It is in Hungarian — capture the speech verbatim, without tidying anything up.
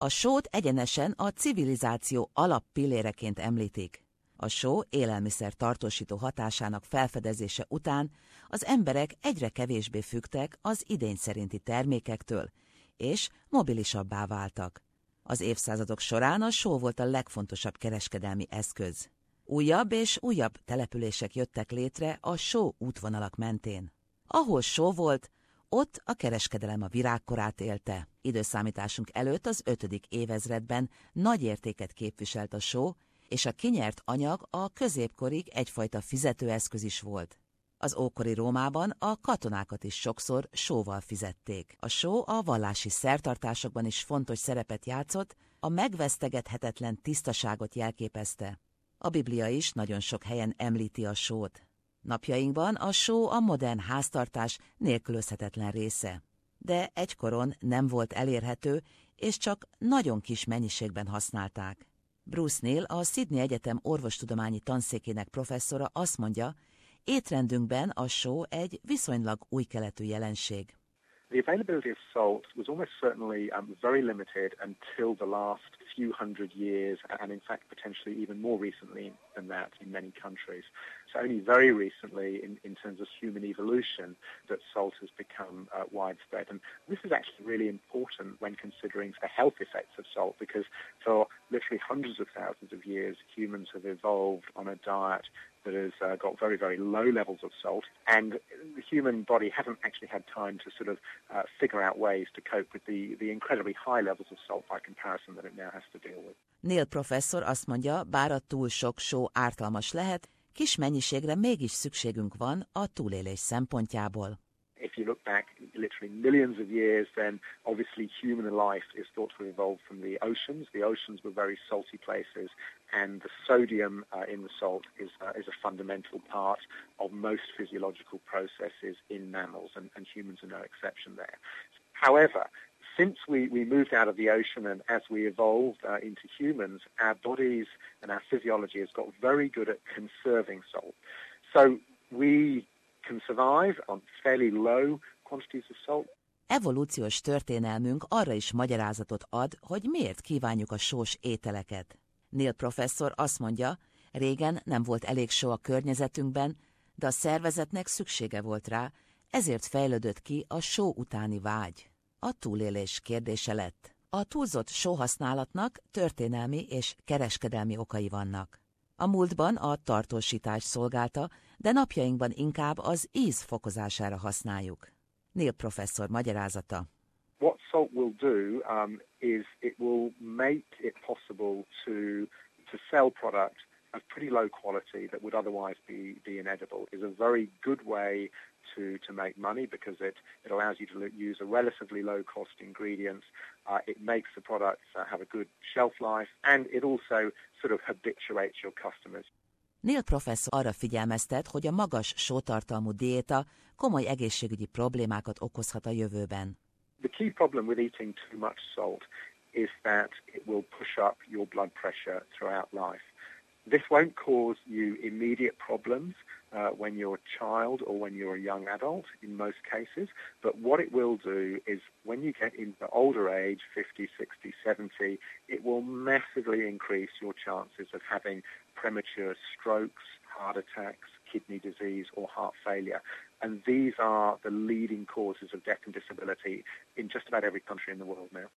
A sót egyenesen a civilizáció alappilléreként említik. A só élelmiszer tartósító hatásának felfedezése után az emberek egyre kevésbé függtek az idény szerinti termékektől, és mobilisabbá váltak. Az évszázadok során a só volt a legfontosabb kereskedelmi eszköz. Újabb és újabb települések jöttek létre a só útvonalak mentén. Ahol só volt, ott a kereskedelem a virágkorát élte. Időszámításunk előtt az ötödik évezredben nagy értéket képviselt a só, és a kinyert anyag a középkorig egyfajta fizetőeszköz is volt. Az ókori Rómában a katonákat is sokszor sóval fizették. A só a vallási szertartásokban is fontos szerepet játszott, a megvesztegethetetlen tisztaságot jelképezte. A Biblia is nagyon sok helyen említi a sót. Napjainkban a só a modern háztartás nélkülözhetetlen része. De egykoron nem volt elérhető, és csak nagyon kis mennyiségben használták. Bruce Neal, a Sydney Egyetem orvostudományi tanszékének professzora azt mondja, étrendünkben a só egy viszonylag új keletű jelenség. The availability of salt was almost certainly um, very limited until the last few hundred years, and in fact potentially even more recently than that in many countries. So only very recently in, in terms of human evolution that salt has become uh, widespread. And this is actually really important when considering the health effects of salt, because for literally hundreds of thousands of years humans have evolved on a diet that has uh, got very, very low levels of salt, and the human body hasn't actually had time to sort of uh, figure out ways to cope with the, the incredibly high levels of salt by comparison that it now has to deal with. Neal professzor azt mondja, bár a túl sok só ártalmas lehet, kis mennyiségre mégis szükségünk van a túlélés szempontjából. If you look back literally millions of years, then obviously human life is thought to have evolved from the oceans. The oceans were very salty places, and the sodium uh, in the salt is, uh, is a fundamental part of most physiological processes in mammals, and, and humans are no exception there. However, since we, we moved out of the ocean and as we evolved uh, into humans, our bodies and our physiology has got very good at conserving salt. So we can survive on fairly low quantities of salt. Evolúciós történelmünk arra is magyarázatot ad, hogy miért kívánjuk a sós ételeket. Neal professzor azt mondja, régen nem volt elég só a környezetünkben, de a szervezetnek szüksége volt rá, ezért fejlődött ki a só utáni vágy. A túlélés kérdése lett. A túlzott sóhasználatnak történelmi és kereskedelmi okai vannak. A múltban a tartósítás szolgálta, de napjainkban inkább az íz fokozására használjuk. Neal professzor magyarázata. What salt will do um, is it will make it possible to to sell product of pretty low quality that would otherwise be, be inedible. Is a very good way to, to make money because it, it allows you to use a relatively low-cost ingredients. Uh, it makes the products uh, have a good shelf life, and it also sort of habituates your customers. Neal professzor arra figyelmeztet, hogy a magas sótartalmú diéta komoly egészségügyi problémákat okozhat a jövőben. The key problem with eating too much salt is that it will push up your blood pressure throughout life. This won't cause you immediate problems uh, when you're a child or when you're a young adult in most cases, but what it will do is when you get into older age, fifty, sixty, seventy, it will massively increase your chances of having premature strokes, heart attacks, kidney disease or heart failure. And these are the leading causes of death and disability in just about every country in the world now.